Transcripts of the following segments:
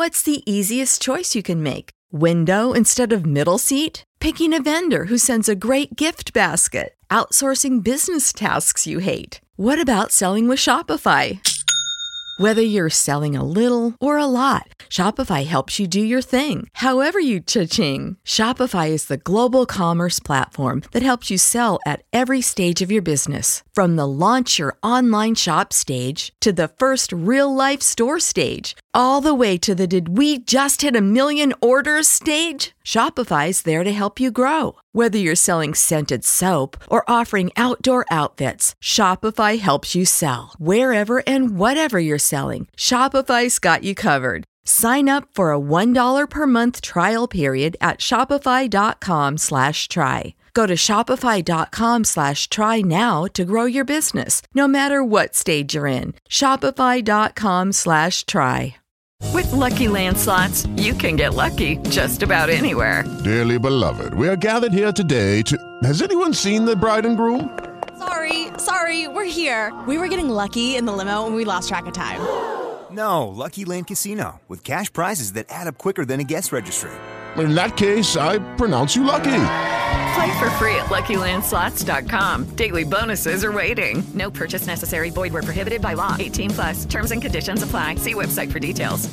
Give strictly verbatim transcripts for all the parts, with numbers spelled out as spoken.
What's the easiest choice you can make? Window instead of middle seat? Picking a vendor who sends a great gift basket? Outsourcing business tasks you hate? What about selling with Shopify? Whether you're selling a little or a lot, Shopify helps you do your thing, however you cha-ching. Shopify is the global commerce platform that helps you sell at every stage of your business. From the launch your online shop stage to the first real-life store stage, all the way to the did we just hit a million orders stage. Shopify's there to help you grow. Whether you're selling scented soap or offering outdoor outfits, Shopify helps you sell. Wherever and whatever you're selling, Shopify's got you covered. Sign up for a one dollar per month trial period at shopify.com slash try. Go to shopify.com slash try now to grow your business, no matter what stage you're in. Shopify.com slash try. With Lucky Land Slots, you can get lucky just about anywhere. Dearly beloved, we are gathered here today to... Has anyone seen the bride and groom? Sorry, sorry, we're here. We were getting lucky in the limo and we lost track of time. No, Lucky Land Casino, with cash prizes that add up quicker than a guest registry. In that case, I pronounce you lucky. Play for free at lucky land slots dot com. Daily bonuses are waiting. No purchase necessary. Void where prohibited by law. eighteen plus. Terms and conditions apply. See website for details.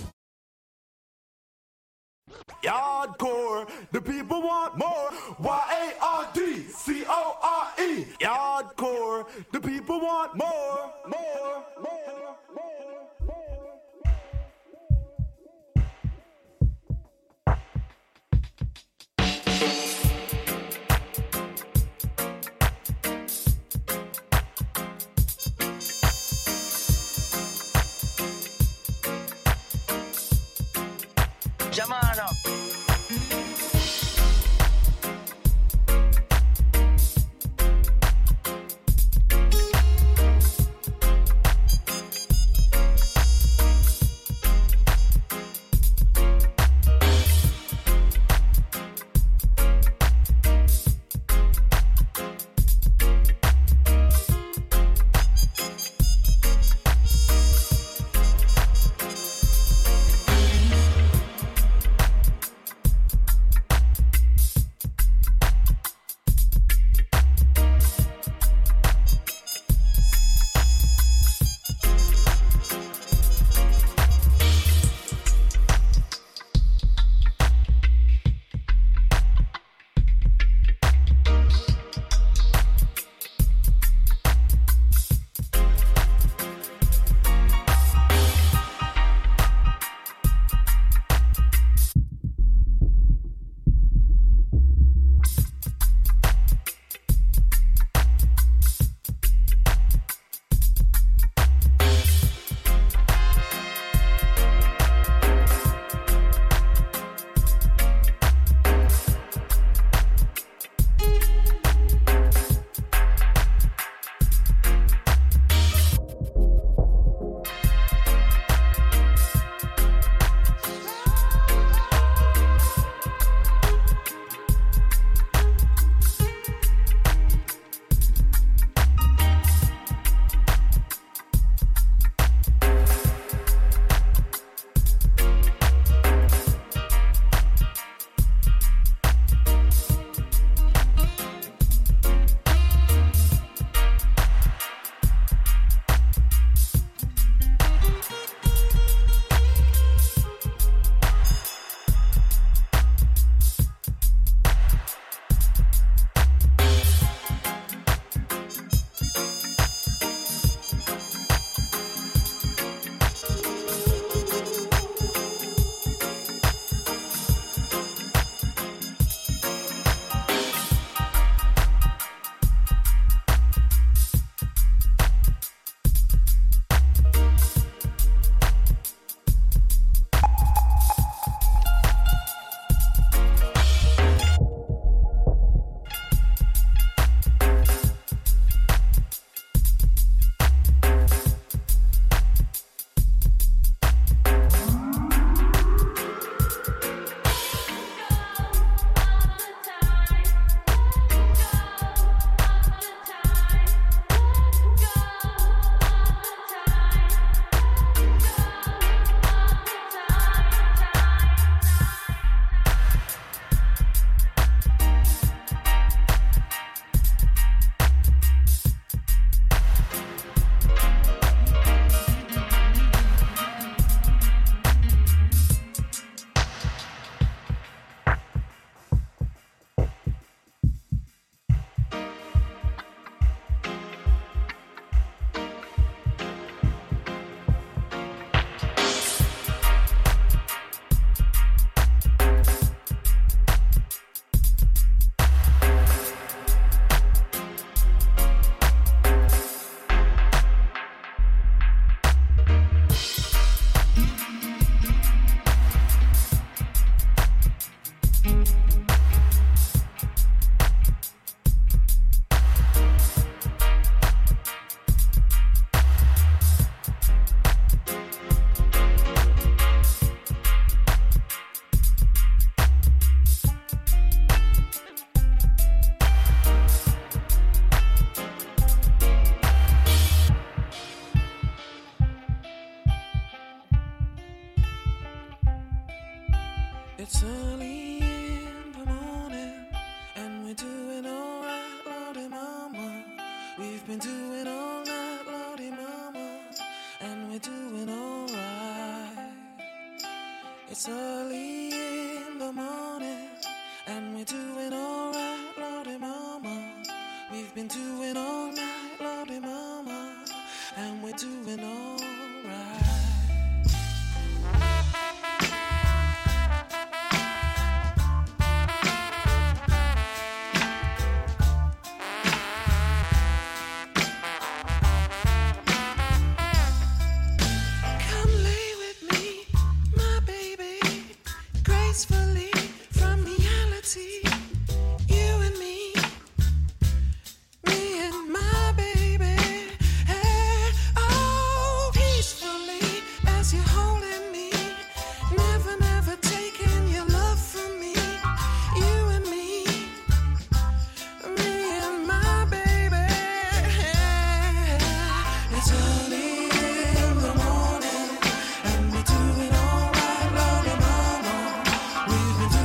Yardcore, the people want more. Y A R D C O R E. Yardcore, the people want more, more, more, more. Germano. It's early in the morning, and we're doing alright, Lordy Mama. We've been doing all night, Lordy Mama, and we're doing alright. It's early in the morning, and we're doing alright, Lordy Mama. We've been doing all night, Lordy Mama, and we're doing alright. From reality, you and me, me and my baby, hey, oh, peacefully as you're holding me, never, never taking your love from me, you and me, me and my baby, hey, it's early in the morning, and we're doing all right, Lordy Mama. We've been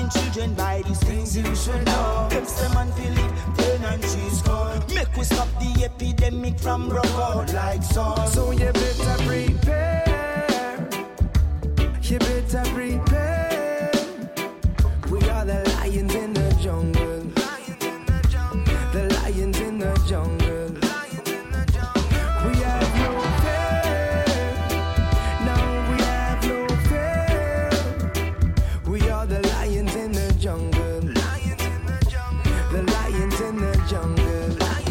Warning children by these things you should know. If someone feel it, turn and cheese cold. Make we stop the epidemic from broke out like so. So you better prepare. You better prepare. We are the lions in the jungle. The lions in the jungle. We have no fear. No, we have no fear. We are the lions in the jungle. The lions in the jungle.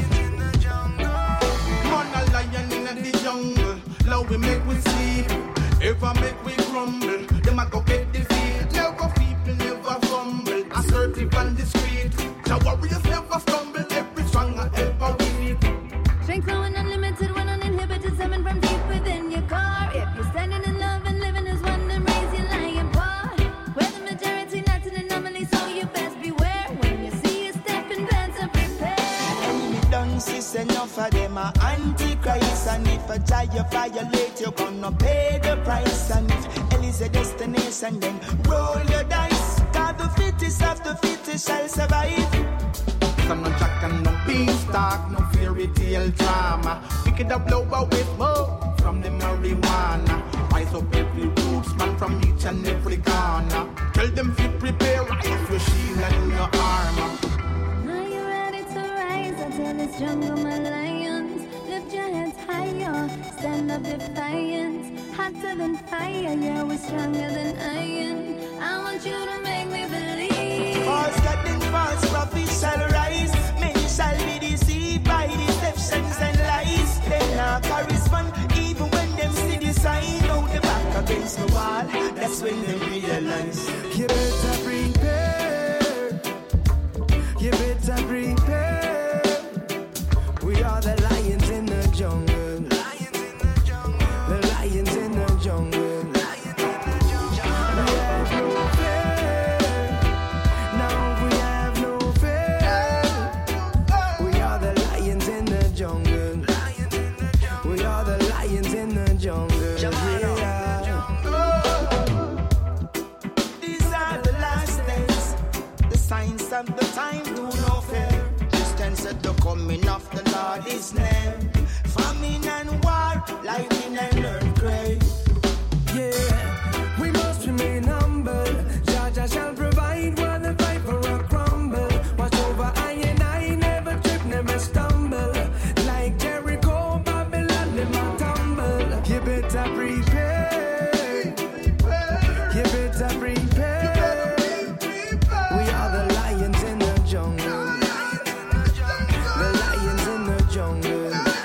Man a lion in the jungle. Love we make we sleep. If I make we crumble, them a go get defeat. Never people never fumble. Assertive and discreet. The warriors never stumble. Every strong and ever weak. Strength flowing unlimited when uninhibited. Seven from deep within your car. If you're standing in love and living as one, then raise your lion paw. We're the majority, not an anomaly, so you best beware. When you see a step in advance and prepare. Enemy done sis, enough of them are antichrist. And if a child you violate, you're gonna pay the price. And if hell is a destination, then roll your dice. Cause the fittest of the fittest shall survive. Some no jack and no beanstalk, no fairy tale drama. Pick it up lower with more from the marijuana. Rise up every roots man from each and every corner. Tell them to prepare, rise your shield and your armor. Are you ready to rise? I tell this jungle, my lions. Lift your heads higher, stand up defiant. Hotter than fire, yeah, we're stronger than iron. I want you to make me believe. False God and false prophets shall rise. Many shall be deceived by deceptions and lies. They not correspond even when them see the sign. Out the back against the wall, that's when they realize. You better prepare. You better prepare. We are the lions in the jungle. The lions in the jungle. We have no fear. No, we have no fear. We are the lions in the jungle. We are the lions in the jungle. Yeah. These are the last days. The signs of the time do no fear. Distance at the coming of the Lord is near. Famine and war, lightning and earthquake. Yeah, we must remain humble. Jah shall provide while the viper will crumble. Watch over I and I, never trip, never stumble. Like Jericho, Babylon, never tumble. You better prepare. You better prepare. We are the lions in the jungle. The lions in the jungle.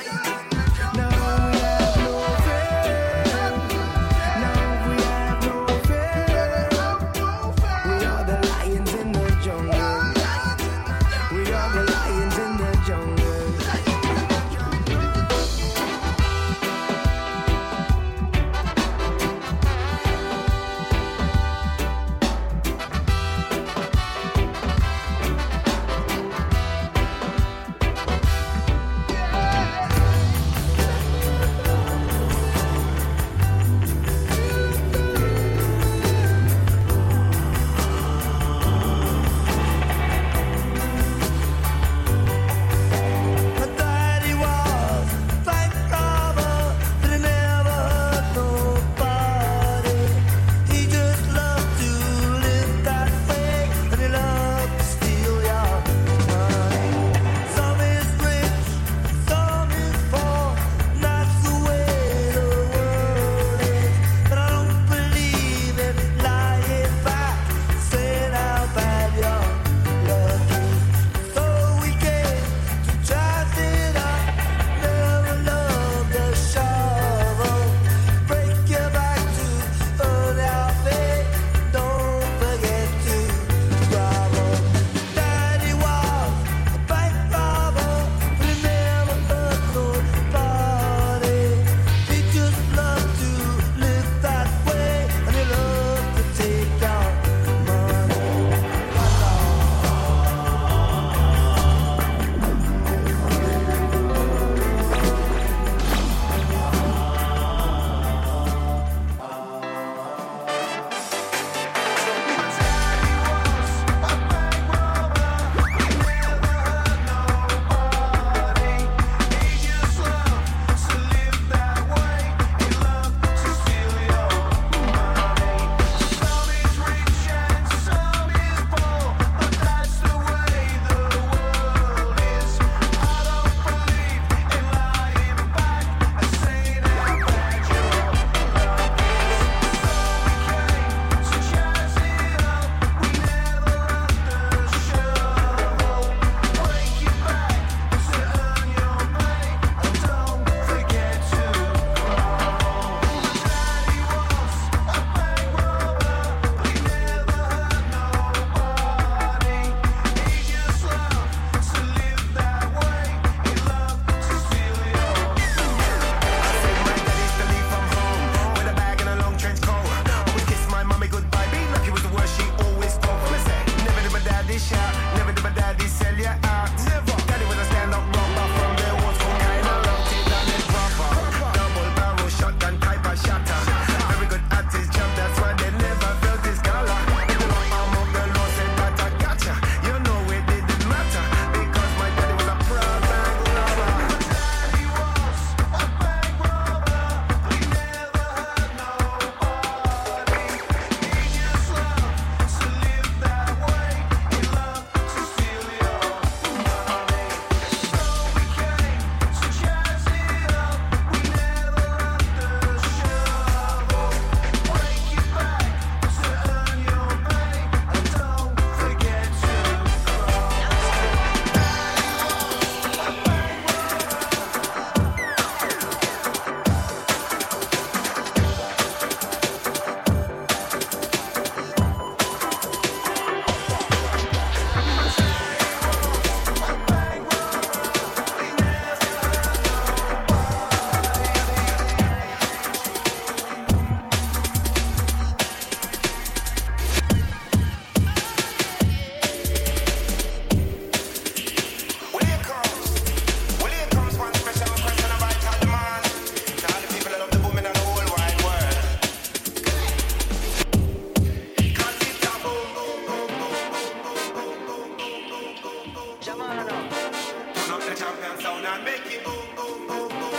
the champion sound and make it boom, boom, boom, boom,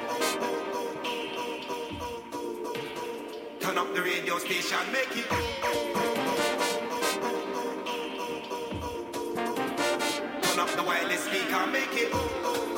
boom. Turn up the radio station, make it boom. Turn up the wireless speaker, make it boom.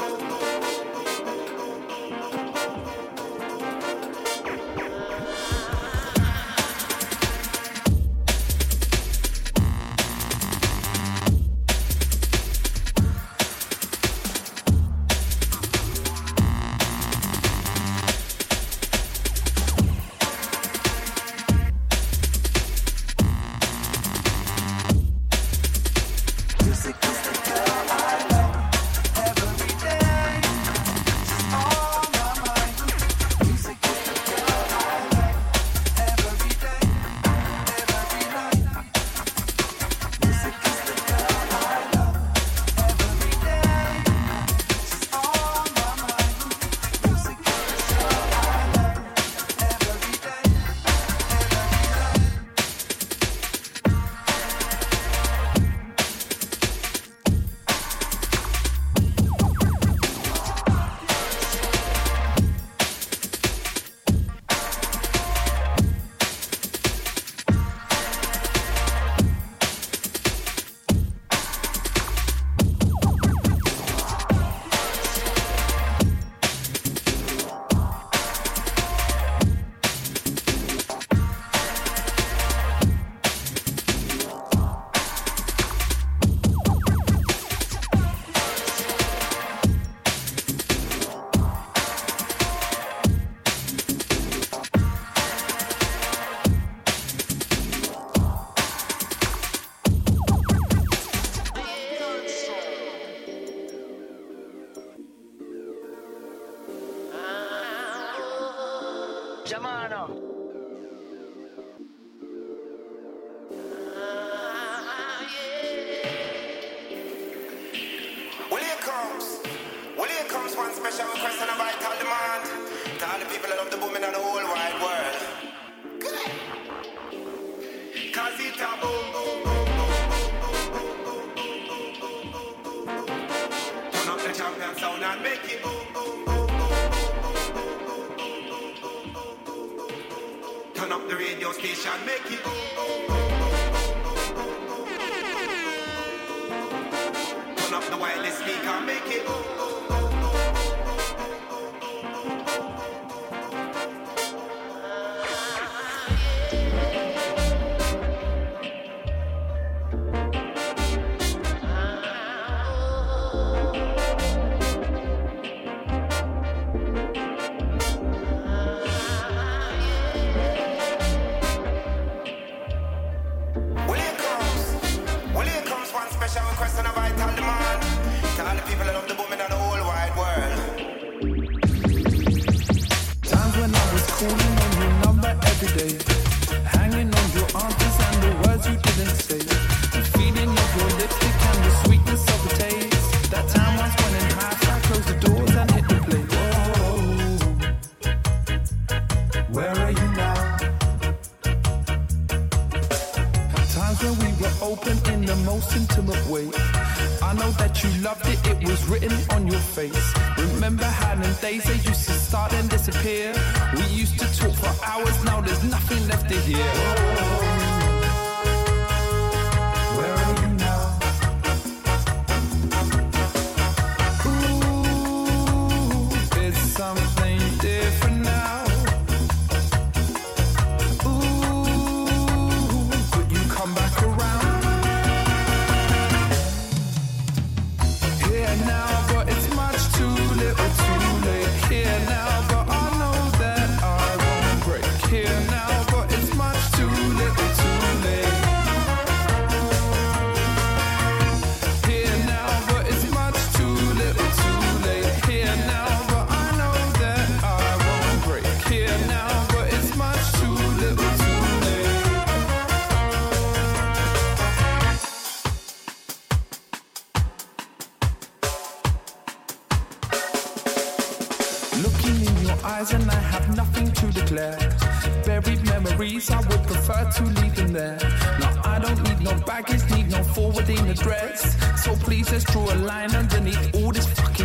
eyes and I have nothing to declare. Buried memories, I would prefer to leave them there. No, I don't need no baggage, need no forwarding address. So please let's draw a line underneath all this fucking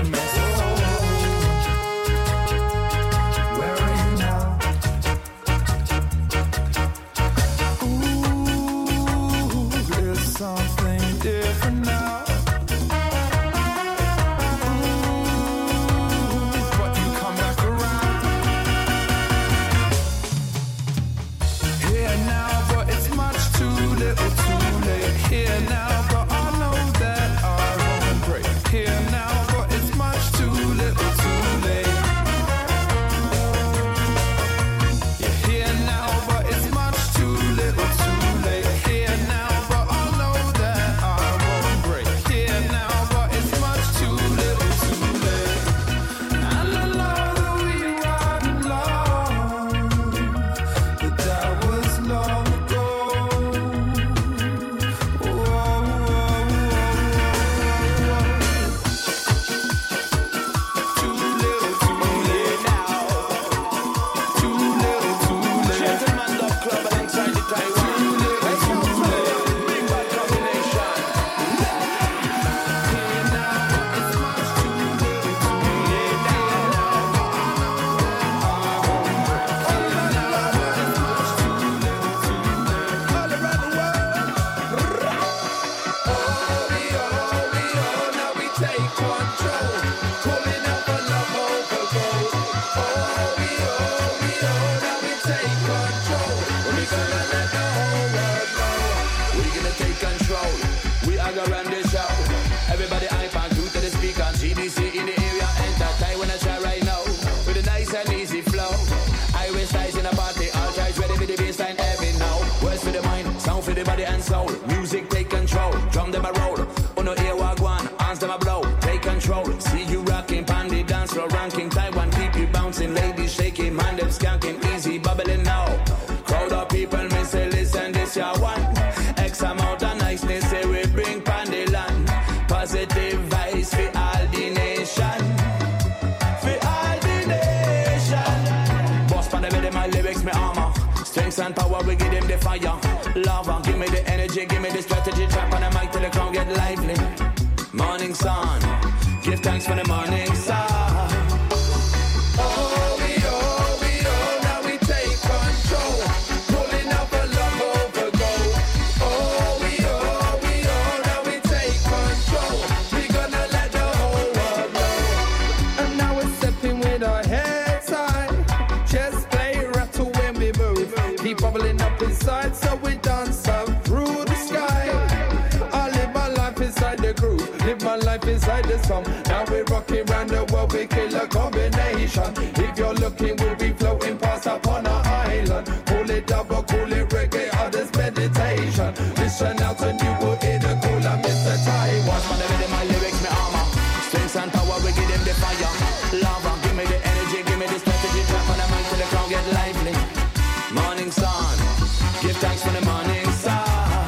control. Pulling up a love overload. Oh, we oh, we oh, now we take control. We gonna let the whole world know. We gonna take control. We are gonna run this show. Everybody hype and do to the speaker. G D C in the area, enter time when I try right now. With a nice and easy flow. Irish ties in a party, all tries ready with the bassline heavy now. Words for the mind, sound for the body and soul. Music take control, drum them a roll. Uno ear walk one, arms them a blow. Take control, see you rocking, pandy dance floor ranking. Taiwan keep you bouncing, ladies shaking, mind them skanking, easy bubbling now. Crowd of people, me say listen, this your one. X amount of niceness, say we bring pandy land. Positive vibes for all the nation. For all the nation. Boss pan the rhythm, my lyrics, me armor. Strength and power, we give them the fire. Lava, give me the energy, give me the strategy. Trap on the mic till the crowd get lively. Morning sun, give thanks for the morning sun. Oh, we oh, we oh, now we take control. Pulling up a love overgo. Oh, we oh, we oh, now we take control. We gonna let the whole world know. And now we're stepping with our heads high. Just play rattle when we move. Keep bubbling up inside, so we dance up through the sky. I live my life inside the groove, live my life inside the song. Now we're rocking round the world, we kill a combination. If you're looking, we'll be floating past upon an island. Call it double, call it reggae, others meditation. Listen out and you will hear the cool of Mister Taiwan. Watch my rhythm, my lyrics, my armor. Strength and power, we give them the fire. Lava, give me the energy, give me the strategy. Trap on the mic till the crowd get lively. Morning sun, give thanks for the morning sun.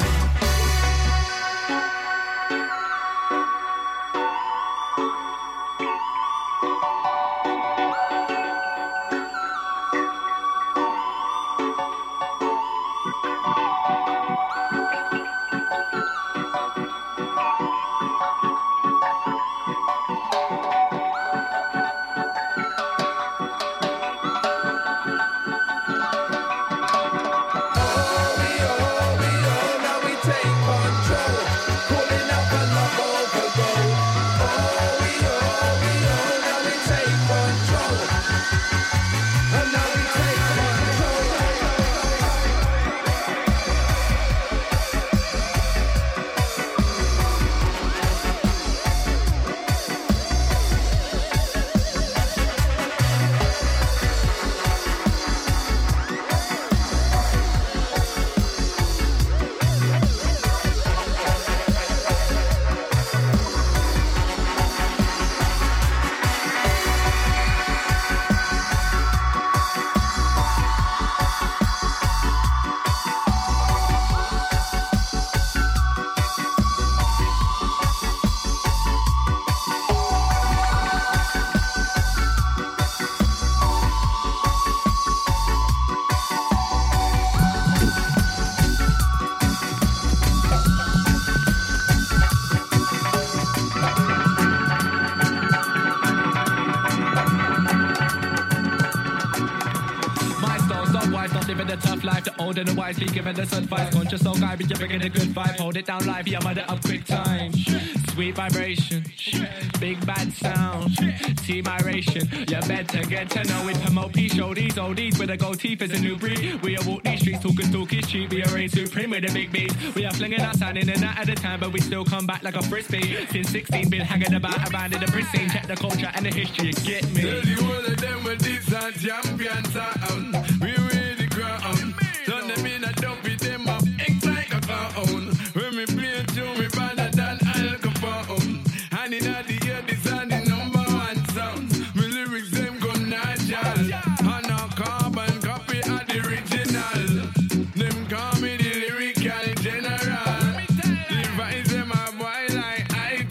Older and wisely given this advice. Conscious soul guy, but you're bringing a good vibe. Hold it down live, yeah, mother up quick time. Sweet vibration, big bad sound. See my ration, you better get to know it. Promote P, show these oldies with a gold teeth is a new breed. We are walk these streets, talking talkies cheap. We are reign supreme with the big beats. We are flinging our sound in and out of the time, but we still come back like a frisbee. Since sixteen, been hanging about around in the pristine. Check the culture and the history, get me. Tell you all of them with these are champion sound. We read the ground. Turn them in and don't beat them up. Act like a clown. When me play a tune, me better than Al Capone. And in the ear, this are the number one sound. Me lyrics, them go natural. And a carbon copy of the original. Them call me the lyrical general. Devise them a boy like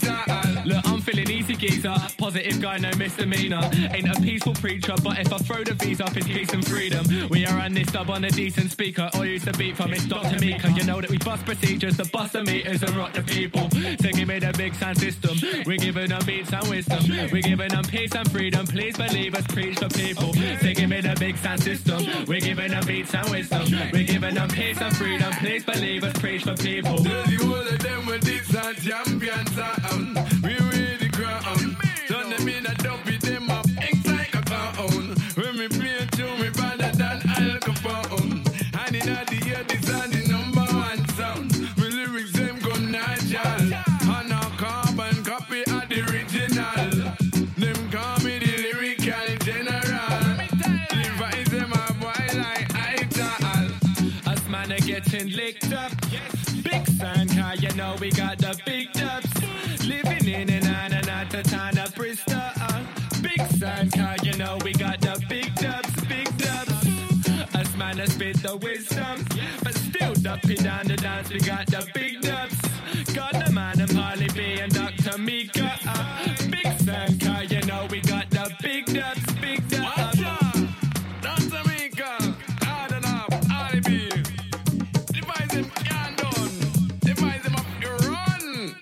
I Look, I'm feeling easy geezer. Positive guy, no misdemeanor. Ain't a peaceful preacher, but if I throw the V's up, it's peace and freedom. We are on this dub on a decent speaker. All used to beat from it's Doctor Mika. You know that we bust procedures, the bust the meters and rock the people. So give me the big sound system. We're giving them beats and wisdom. We're giving them peace and freedom. Please believe us, preach for people. So give me the big sound system. We're giving them beats and wisdom. We're giving them peace and freedom. Please believe us, preach for people. Tell you all of them with this are champion sound. We read the ground. getting licked up. Big Sun car, you know we got the big dubs. Living in and out and out the town of Bristol. Uh. Big Sun car, you know we got the big dubs, big dubs. Us man has spit the wisdom, but still dumpy down the dance. We got the big dubs. Got the man and Harley B and Doctor Mika. Uh. Big Sun car, you know we got the big dubs, big dubs. Doctor Mika, hard enough, Harley B. Devise him, can't done. Devise him up, you run.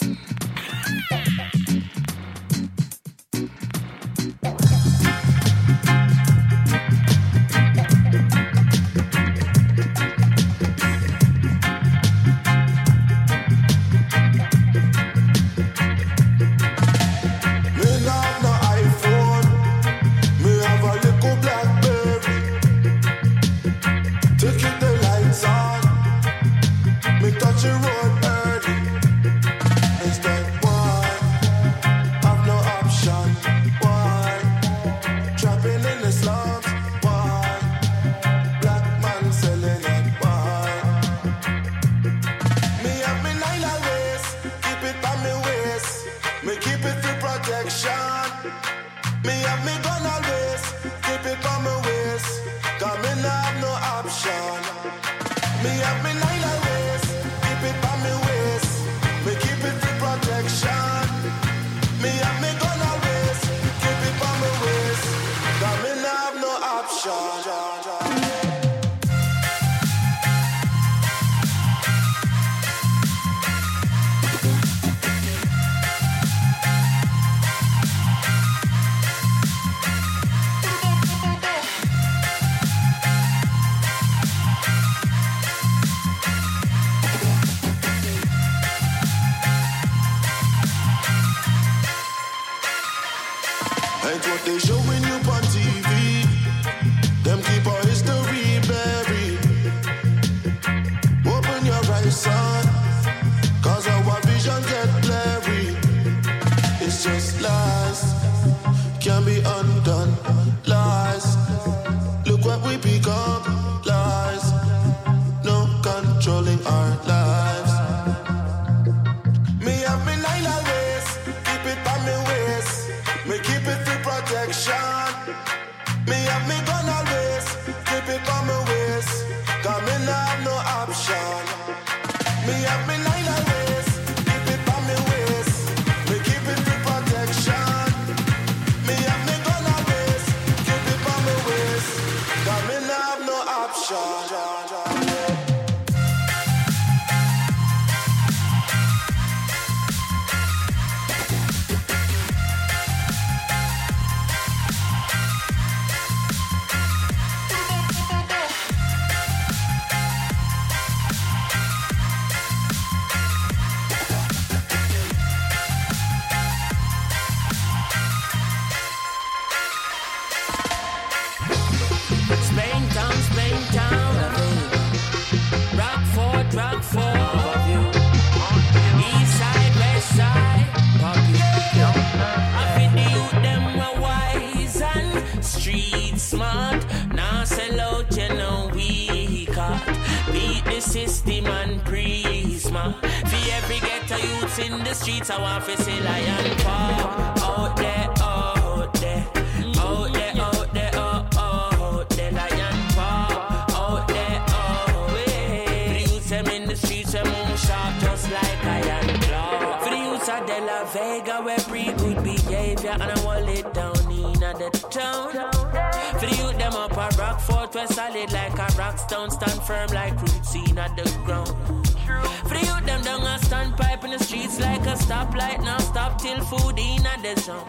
In the streets, I want to see lion paw out there, out there, out there, out there, out, out there, lion paw out there, out there. For the youths them in the streets, we move sharp just like iron claw. For the youths of De La Vega, we bring good behavior and I want it down in the town. For the youth them up a Rockfort, we solid like a rock stone, stand firm like roots in the ground. For the youth them down a standpipe in the streets like a stoplight. Now stop till food in a the zone.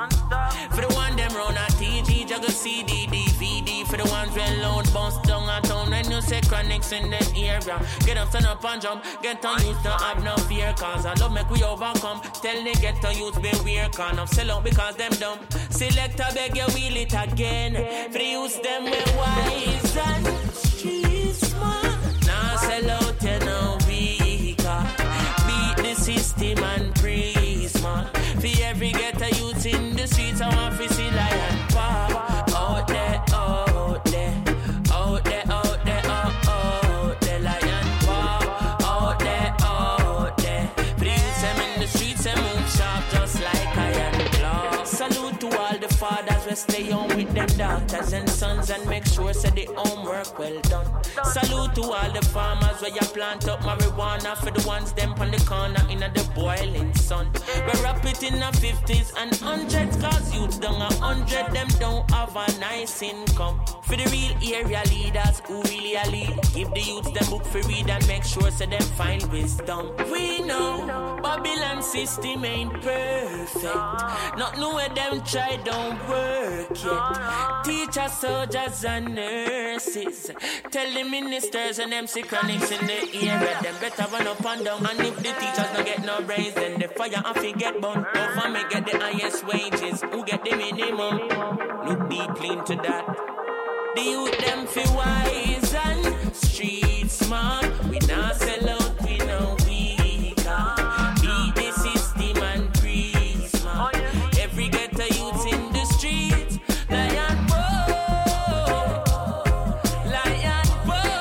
For the one them run a T G, juggle C D, D V D. For the ones well loud, bounce down a town. When you say chronics in the area, get up, stand up and jump. Get on youth, don't have no fear. Cause I love make we overcome. Tell the get on youth, beware. Can't up sell out because them dumb. Select a beg you wheel it again. For the youth them we wise and street smart. Now sell out you know. Beat the system and praise, man. For every ghetto youth in the streets, I want to see lion paw out there, out there, out there, out there, out, out there, lion paw fathers will stay home with them daughters and sons and make sure say the homework well done. Salute to all the farmers where you plant up marijuana for the ones them on the corner in the boiling sun. We wrap it in the fifties and hundreds cause youths down a hundred them don't have a nice income. For the real area leaders who really a lead, give the youths them book for read and make sure so them find wisdom. We know Babylon system ain't perfect. Not know where them try don't work yet. Teachers, soldiers and nurses tell the ministers and them sick chronics in the area them better run up and down. And if the teachers don't get no brains, then the fire and fi get burnt. Government get the highest wages, who get the minimum? Look deeply into that. The youth them fi wise and street smart. We not sell out, we no weaker. Beat the system and breathe smart. Every ghetto youth in the streets. Lion boy, lion boy,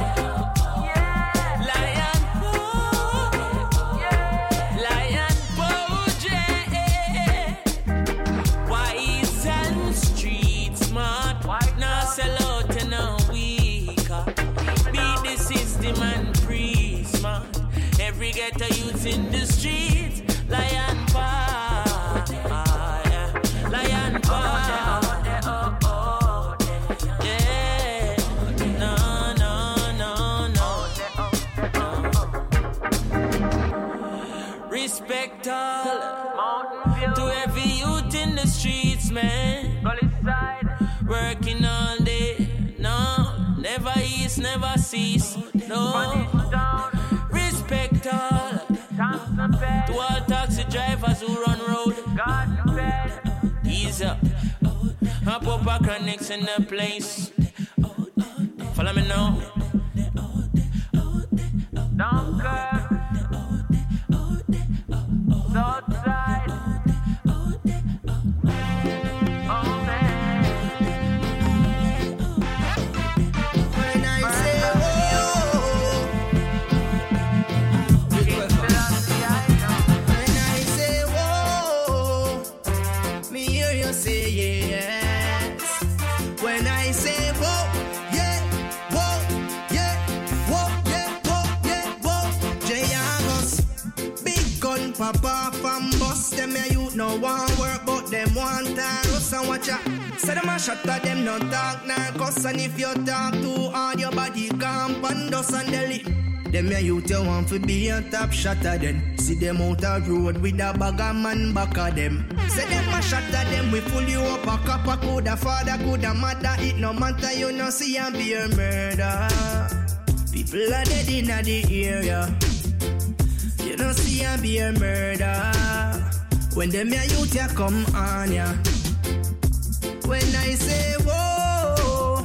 lion boy, lion boy, yeah. Wise and street smart. Now sell out and now weaker. Beat the system and breathe smart. Every ghetto youth in the streets. Lion paw, yeah. Lion paw, yeah. No, no, no, no. Respect all to every youth in the streets, man. Working all day, no, never ease, never cease, no. Respect all to all taxi drivers who run road. Ease up, hop up a chronics in the place. Follow me now. Don't care. Outside. Papa from bus, them a youth no want work, but them want us and watch out. Say them a shut at them no talk narcos, and if you talk too hard, your body camp and dust and deli. Them a youth you want to be a top shot at them. See them out a road with a bag of man back of them. Say them a shot at them, we pull you up a cop, a coulda father, coulda mother. It no matter, you no see and be a murder. People are dead in the area. You don't see a be a murder. When them your youth ya come on ya. When I say whoa,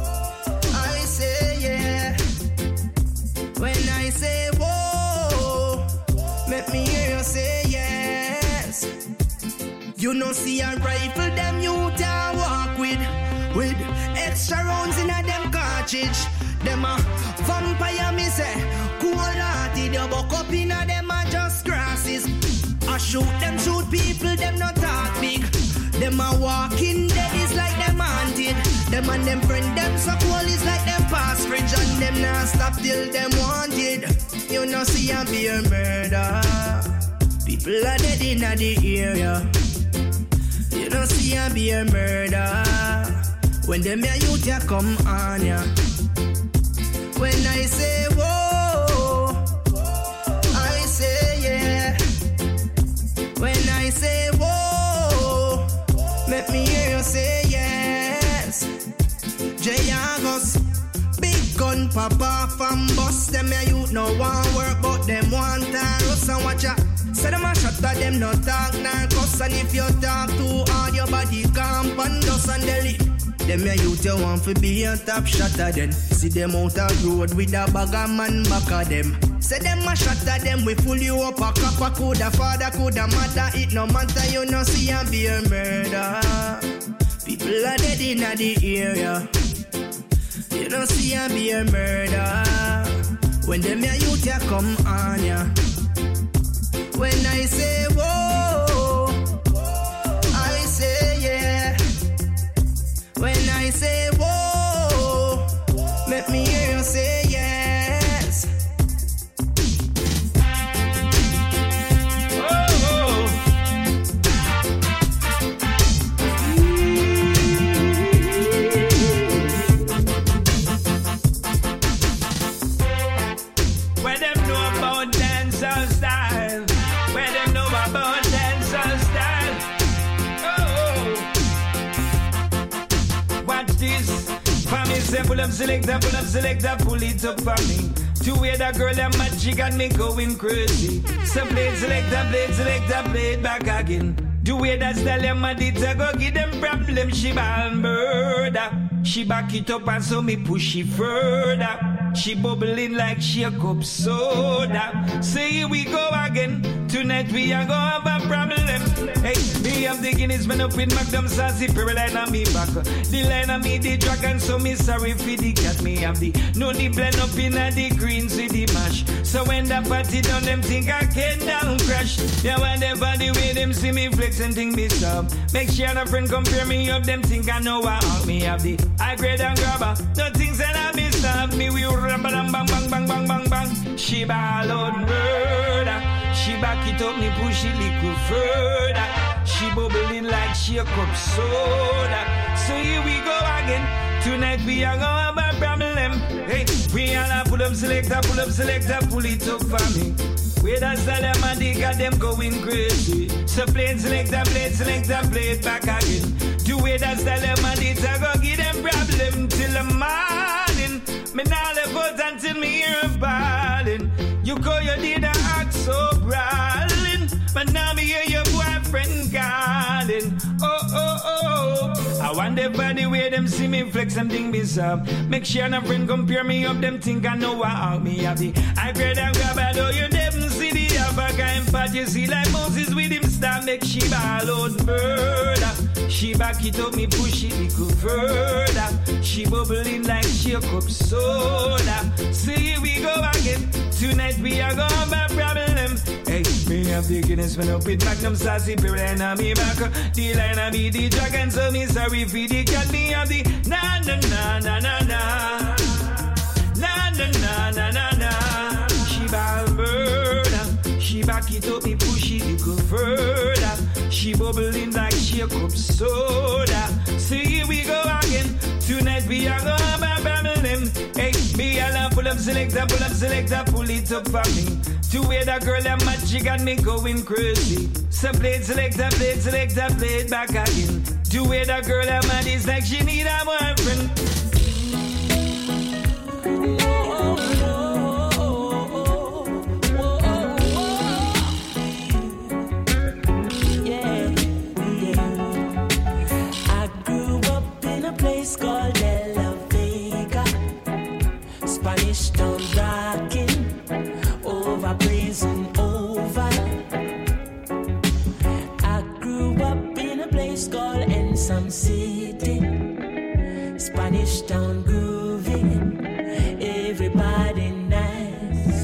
I say yeah. When I say whoa, make me hear you say yes. You don't see a rifle them youth ya walk with, with extra rounds in a them cartridge. Them a vampire me say, cool hearted, you buck up in a them a just grasses. I shoot them, shoot people, them not talk big. Them a walking dead is like them haunted. Them and them friend, them so cool is like them past fridge. And them not stop till them wanted. You know see a be a murder. People are dead in the area. You know see a be a murder. When them your youth ya come on ya. When I say whoa, I say yeah. When I say whoa, make me hear you say yes. J-Agos, big gun papa from bus. Them a youth no want work, but them want us and watch ya. Say them a shut at them no talk narcos, and if you talk too hard, your body camp and dust and deli. Them a youth you want to be a top shot at them. See them out a road with a bag of man back of them. Say them a shot at them, we pull you up a cop, a coulda father, coulda mother. It no matter, you no see and be a murder. People are dead in the area. You no see and be a murder. When them a youth ya come on ya. When I say whoa, I say yeah. say pull up selector, pull up selector, pull it up for me. To where that girl and magic got me going crazy. So play it selector, play it selector, play it back again. The way that style them a did to go give them problem. She ball murder. She back it up and so me push it further. She bubbling like she a cup soda. So here we go again. Tonight we are gonna have a problem. Hey, me have the Guinness man up with Magnum Sassy Pearl line on me back. The line on me the dragon, so me sorry for the cat. Me have the no the blend up in a the greens with the mash. So when the party done, them think I can down crash. Yeah, whenever the way them see me flex and think me stop. Make sure a friend compare me up, them think I know how me have the high grade and grabber. No things that I miss stop me. We bang bang bang bang bang bang bang. She ball out murder. She back it up, me push it little further. She bubbling like she a cup soda. So here we go again. Tonight we are gonna have a problem. Hey, we all a pull up selector, pull up selector, pull it up for me. Where that's the them and they got them going crazy. So play it selector, play it selector, play it back again. The way that's the them and they go give them problem till the morning. Me now left out until me hear a ballin'. You call your did a act so brawling, but now me hear your boyfriend calling. Oh, oh, oh. I wonder by the way them see me flex and think me up. Make sure no friend compare me up, them think I know how me have the I grade and grab it, though you never see the other kind part. You see like Moses with him start make she ball out murder. She back it up, me push it little further. She bubbling like she a cup soda. So here we go again. Tonight we are gonna have a problem. Hey, me have the Guinness man up with Magnum Sassy Pearl line on me back. The line on me the dragon, so me sorry for the cat. Me have the na na na na na na na na na na na na. She ball murder. She back it up, me push it little further. She bubbling like she a cup soda. So here we go again. Tonight we are gonna have a problem. Hey, me all pull up selector, pull up selector, pull it up for me. To where that girl and magic got me going crazy. So play it selector, play it selector, play it back again. To where that girl and mad is like she need a boyfriend. Place called De La Vega, Spanish town rocking, over prison over. I grew up in a place called Ensom City, Spanish town grooving, everybody nice.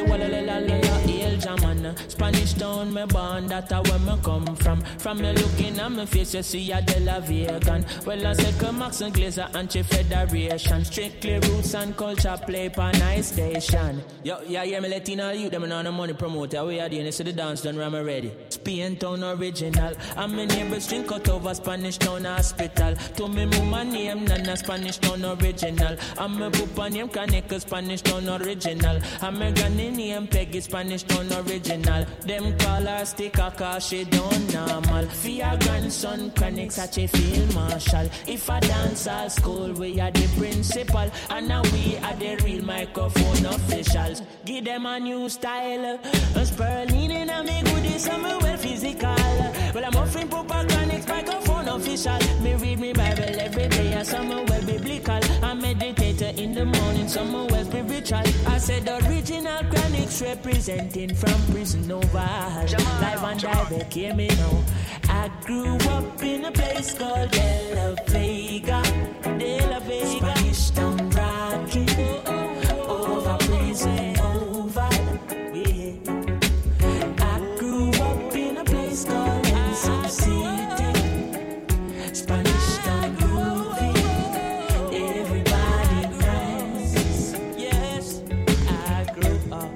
Spanish town, me born, that's where me come from. From me looking at my face, you see a De La Vegan. Well, I said, come Max and Glazer, anti-federation. Strictly roots and culture, play per nice station. Yo, yeah, yeah, me letting all you, them on the money promoter. We are doing this, so the dance done, I'm ready. Spain town original. I'm my neighbor string cut over Spanish town hospital. To me, mama name, Nana, Spanish town original. I'm my papa name, Kaneka, Spanish town original. I'm my granny name, Peggy, Spanish town original. Them call her sticker cause she don't normal. For your grandson chronic such a field marshal. If I dance at school we are the principal. And now we are the real microphone officials. Give them a new style. A Sperling in a me goodies and me well physical. Well I'm offering proper chronic microphone official. Me read me Bible every day and some well biblical. I meditate in the morning, some well spiritual. I said original chronics representing from prison over. Live and direct, hear me now. I grew up in a place called De La Vega, De La Vega. Spanish town rocking, over prison over. Yeah. I grew up in a place called Ensom City, Spanish town grooving, everybody nice. Yes, I grew up.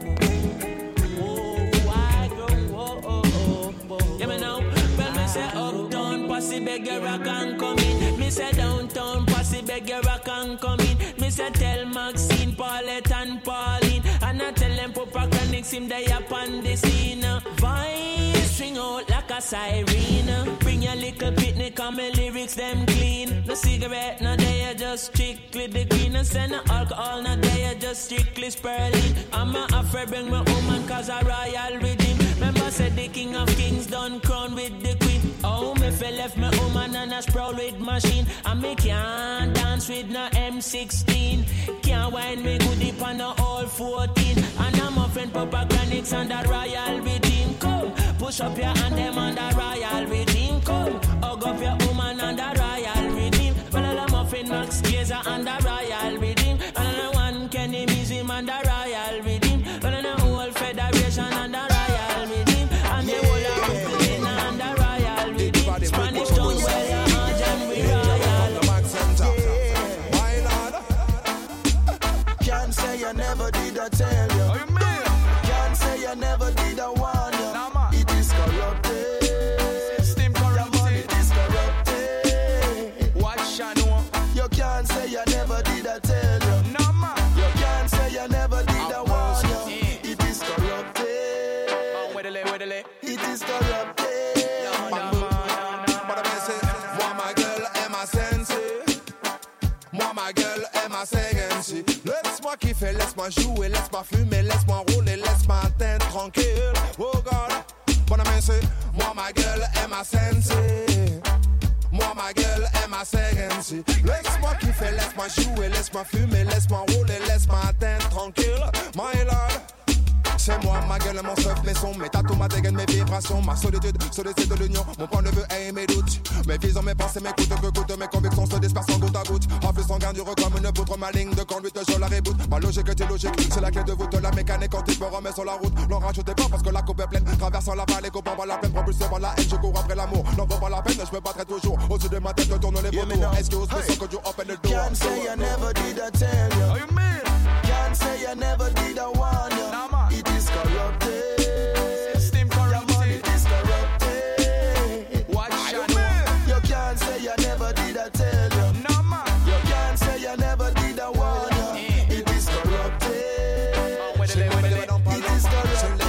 Beggar I can come in. Me say downtown posse beggar I can come in. Me say tell Maxine, Paulette and Pauline. And I tell them Papa Chronics him they up on the scene. Voice string out like a siren. Bring your little picnic and my lyrics them clean. No cigarette, no day, just just strictly the green. And send no alcohol, no day, just strictly spurling. I'm a afraid bring my woman cause a royal redeem. Remember said the king of kings done crown with the queen. Oh, me fell left my woman and a sprawl with machine. And me can't dance with no M sixteen. Can't wind me good deep on no all fourteen. And I'm a friend Papa Granix and the royal redeem. Come, push up your hand them on the royal redeem. Come, hug up your woman and the royal redeem. Well, I'm a friend Max Gazer and the royal redeem. And I'm one Kenny Museum and the royal redeem. Well, I'm the whole federation and the royal redeem. And the whole of Brooklyn and the royal redeem. Spanish town where you're and we royal. My Lord, can't say you never did I tell you. Oh, you mean? Can't say you never did I warn you. Nah, man. It is corrupted. System corrupted. It is corrupted. Watch and know. You can't say you never did I tell you. Nah, man. You can't say you never did I warn you. It is corrupted. Man, where the lay, where the lay? It is corrupted. Moi ma gueule est ma sensei. Moi ma gueule est ma séquence. Laisse-moi kiffer, laisse-moi jouer, laisse-moi fumer, laisse-moi rouler, laisse-moi atteindre tranquille. Oh God, bon amène. Moi ma gueule est ma sensei. Moi ma gueule est ma séquence. Laisse-moi kiffer, laisse-moi jouer, laisse-moi fumer, laisse-moi rouler, laisse-moi atteindre tranquille. My Lord. C'est moi, ma gueule, mon stuff, mes sons, mes tatous, ma dégaine, mes vibrations, ma solitude, solitude de l'union, mon point de vue et mes doutes. Mes visions, mes pensées, mes coûtes, que coûtent, mes convictions se dispersent en goutte à goutte. Rafle sanguin dure comme une poutre, ma ligne de conduite, je la reboot. Ma logique est illogique, c'est la clé de voûte, la mécanique quand il me remet sur la route. N'en rajoutez pas parce que la coupe est pleine, traversant la vallée, copain par la peine, propulsé par la haine, je cours après l'amour. N'en vaut pas la peine, je me battrai toujours. Au-dessus de ma tête, je tourne les vautours. Excuse me, so could you open the door? Can't say I never did I tell you. Oh, you mean? Can't say I never did I warn you. Nah, man. It is corrupted. System corrupted. It is corrupted. Watch I and know. know. You can't say I never did I tell you. Nah, man. You can't say I never did I warn you. It is corrupted. Man, where the lay, where the lay? It is corrupted.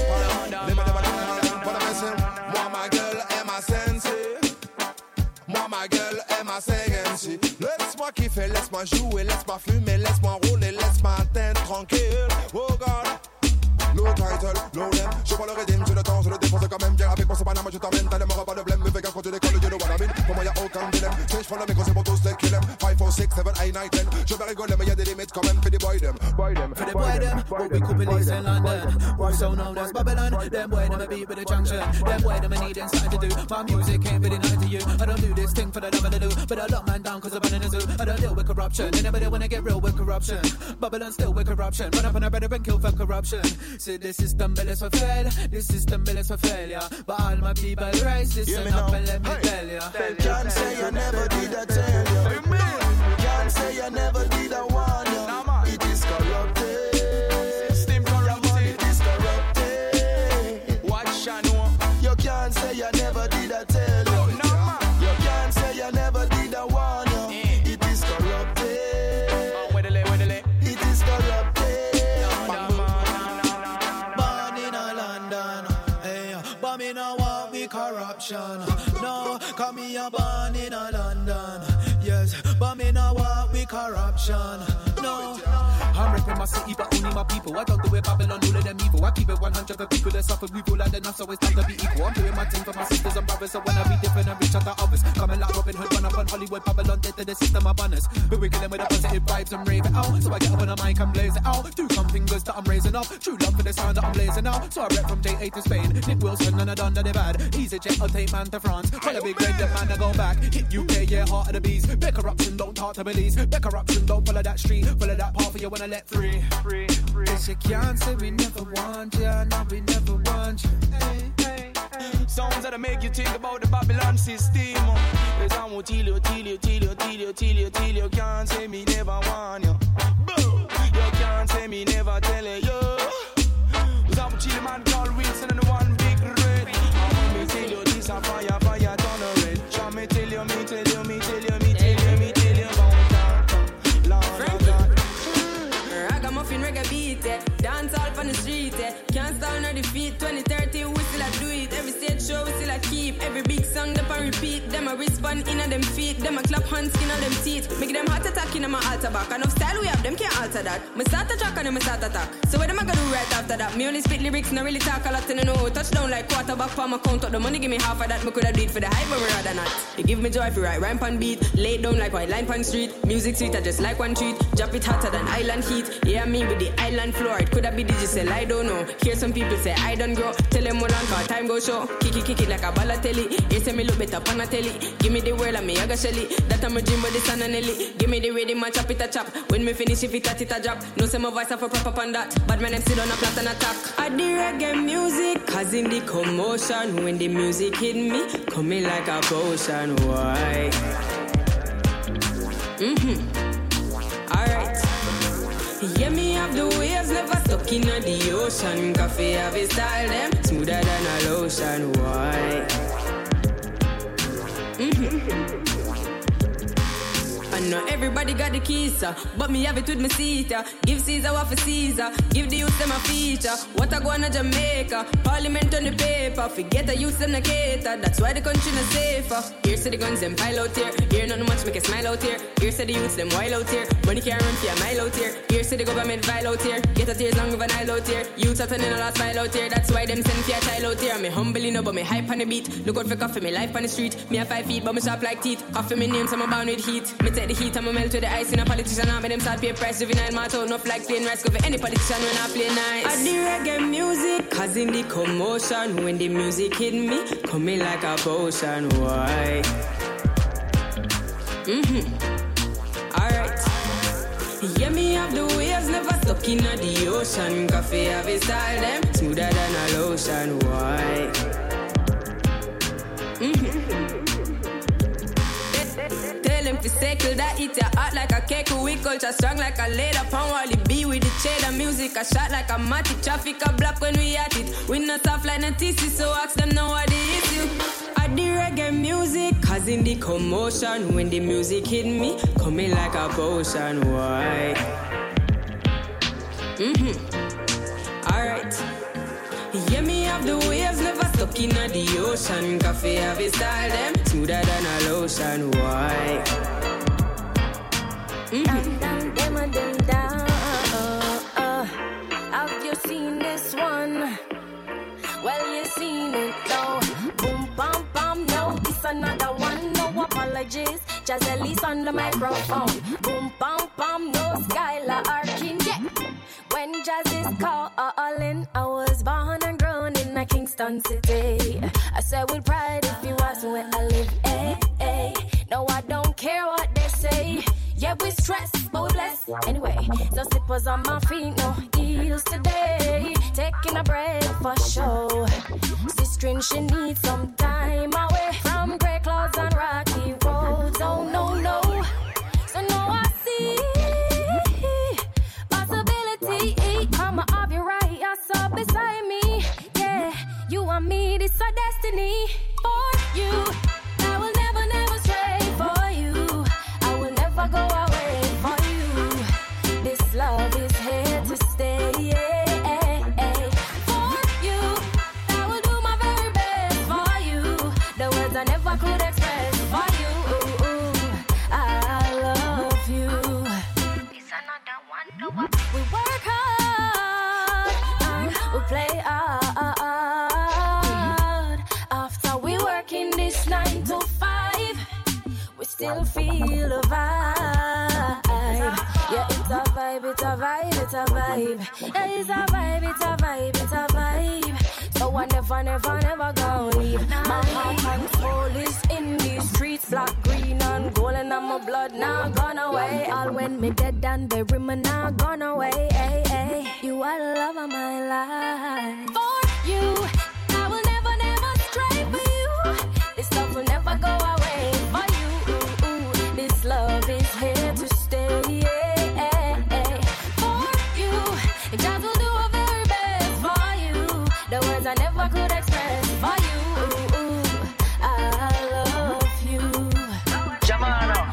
Moi ma gueule est ma sensei. Moi ma gueule est ma séquence. Laisse-moi kiffer, laisse-moi jouer, laisse-moi fumer, laisse-moi rouler, laisse-moi atteindre tranquille. Oh God. No title, no name. Je prends le rythme, j'ai le temps, je le défonce quand même. Viens avec moi, c'est pas moi, je t'emmène. T'as les morts, pas de blême. Me fais gaffe quand tu décolles, you know what I mean. Pour moi, y'a aucun dilemme. Si je prends le micro, c'est pour tous les kill 'em. five, four, six, seven, eight, nine, ten. Je vais rigoler, mais y'a des limites quand même. Fais des boy them, boy them. For the boy them, but we could police in London. We're so known as Babylon. Them boy them a beat with a junction. Them boy them a need and something to do. My music ain't really nothing to you. I don't do this thing for the love of the do. But I lock man down cause I'm in a zoo. I don't deal with corruption. Anybody wanna get real with corruption. Babylon still with corruption. Run up on a better and kill for corruption. See the system built for fail. This system built for failure. But all my people rise. Listen up and let me tell ya. Can't say I never did I tell you. Can't say I never did I warn you. It is corrupted. System corrupted. It is corrupted. Watch and know. You can't say I never did I tell you. You can't say I never did I warn you. It is corrupted. Man, where the lay, where the lay? It is corrupted. Born in a London, hey, but me no want me corruption. No, come me a born in a London, yes, but me no want me corruption. No, I'm repping my city, but only my people. I don't do it Babylon, all of them evil. I keep it one hundred for people that suffer. We've all had enough, so it's time to be equal. I'm doing my thing for my sisters and brothers, so when I be different and reach out to others. Coming like Robin Hood, run up on Hollywood, Babylon, dead to the system of banners. But we kill them with the positive vibes and rave it out. So I get up on the mic and blaze it out. Do some fingers that I'm raising up. True love for the sound that I'm blazing out. So I rep from J A to Spain. Nick Wilson and I done that they bad. Easy jet, I'll take man to France. Call a big red, the man to go back. Hit U K, yeah, heart of the beast. Big corruption, don't talk to police. Big corruption, don't follow that street. Follow that path for you when I let free. Free, free. Yes, you can't say we never want you. No, we never want you. Hey, hey, hey. Sounds that make you think about the Babylon system. Yes, I won't tell you, tell you, tell you, tell you, tell you, tell you. Can't say me never want you. Boo! You can't say me never tell you. Cause I'm a chill man called Wilson and the one big red. I want me tell you this a fire, fire, turn a red. Try me tell you, me tell you, me tell you, me tell you, me tell you about that. Lord of God. Ragamuffin reggae beat, eh. Dance all on the street, eh. Can't stall nor defeat. twenty thirteen we still a do it. Every stage show we still a keep. Every big song them a repeat. Them a respond pan in them feet. Them a clap hands skin on them teeth. Make them heart attack in my altar back. Enough style we have, them can't alter that. Me start a track and them start attack. So what am I gonna do right after that? Me only spit lyrics, not really talk a lot and I know. Touchdown like quarterback for my count up the money, give me half of that. Me coulda do it for the hype, but me rather not. You give me joy if you write rhyme pan beat. Lay down like white line pan street. Music sweet, I just like one treat. Drop it hotter than island heat. Yeah, me with the island floor. It coulda be digital, I don't know. Hear some people say I don't grow. Tell them more long cause time go show. Kick it, kick it like a ballatelli. You say me look better pan a telly. Give me the world and me a go shelly. That I'm a dream but this and a Nelly. Give me the rhythm and chop it a chop. When me finish if it a it a drop. No say my voice a for proper on that. But my name still on a plot and attack. I the reggae music causing the commotion. When the music hit me, coming like a potion. Why? Mm-hmm. Alright. Yeah, me have the waves never stuck in the ocean. Coffee have a style them smoother than a lotion. Why? Mm-hmm. I know everybody got the keys, uh, but me have it with me seat. Uh. Give Caesar what for Caesar, give the youth them a feature. What I go on to Jamaica, Parliament on the paper. Forget the youth them the cater, that's why the country not safer. Here say the guns them pile out here, here not much make a smile out here. Here say the youths them wild out here, money can't run for a mile out here. Here say the government vile out here, get a tears long of an aisle out here. Youths are turning a last file out here, that's why them send for a child out here. Me humbly know but me hype on the beat, look out for coffee, me life on the street. Me have five feet but me sharp like teeth, coffee me name so I'm bound with heat. Me take the heat and me melt with the ice in a politician. I make them start pay price, juvenile march out enough like plain rice. Go for any politician when I play nice. I the reggae music causing the commotion. When the music hit me, coming like a potion. Why? Mm-hmm. Alright. Yeah, me have the waves never stuck in the ocean. Coffee have a style them smoother than a lotion. Why? Mm-hmm. Tell them to circle that eat your heart like a cake. We culture strong like a leather. Pound Wally B with the cheddar music. A shot like a matic. Traffic a block when we at it. We not soft like no T C, so ask them now what the issue. I the reggae music causing the commotion. When the music hit me, coming like a potion. Why? Mm-hmm. Alright. Yeah, me have the waves never stuck in the ocean. Coffee have a style them smoother than a lotion. Why? Mm-hmm. Dum, dum, dum, dum, dum. Uh, uh. Have you seen this one? Well, you seen it though. Boom, bam, bam, no, it's another one. No apologies, just at least on the microphone. Boom, bam, bam, no Skylar Arkin, yeah. When jazz is calling, I was born and grown in a Kingston city. I said with pride if you ask where I live, eh, eh. No, I don't care what they say. Yeah, we stress, but we bless. Anyway, no slippers on my feet, no heels today. Taking a break for sure. Sister, she needs some time away from grey clouds and rocky roads. Oh, no, no. So now I see I'ma have you right, you're so beside me. Yeah, you and me, this our destiny. For you, I will never, never stray for you. I will never go away for you. This love is here to stay. Yeah, for you, I will do my very best for you. The words I never could express for you. I love you. It's another one, no one. We work hard. We play hard after we working this nine to five. We still feel a vibe. Yeah, it's a vibe, it's a vibe, it's a vibe. Yeah, it's a vibe, it's a vibe, it's a vibe. So I never, never, never gonna leave. My heart and soul is in these streets, black, green, and gold, and my blood now gone away. All when me dead and bury me now gone away. Ay, ay. You are the love of my life. For you, I will never, never stray for you. This love will never go away. For you, this love is here to stay. For you, God will do a very best for you. The words I never could express for you. I love you. Jamano.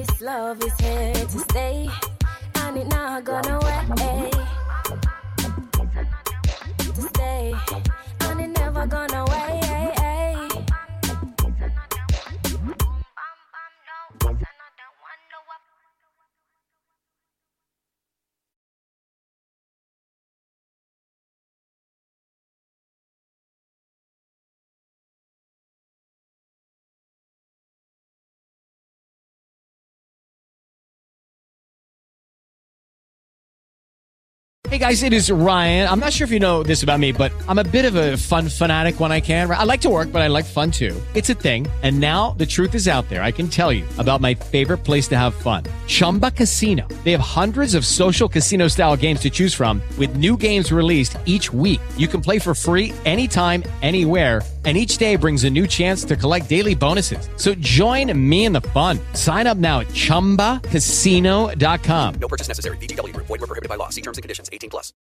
This love is here to stay, and it not gonna away. To stay, and it never gonna away. Hey guys, it is Ryan. I'm not sure if you know this about me, but I'm a bit of a fun fanatic when I can. I like to work, but I like fun too. It's a thing. And now the truth is out there. I can tell you about my favorite place to have fun. Chumba Casino. They have hundreds of social casino style games to choose from with new games released each week. You can play for free anytime, anywhere. And each day brings a new chance to collect daily bonuses. So join me in the fun. Sign up now at chumba casino dot com. No purchase necessary. V G W Group. Void where prohibited by law. See terms and conditions. eighteen plus.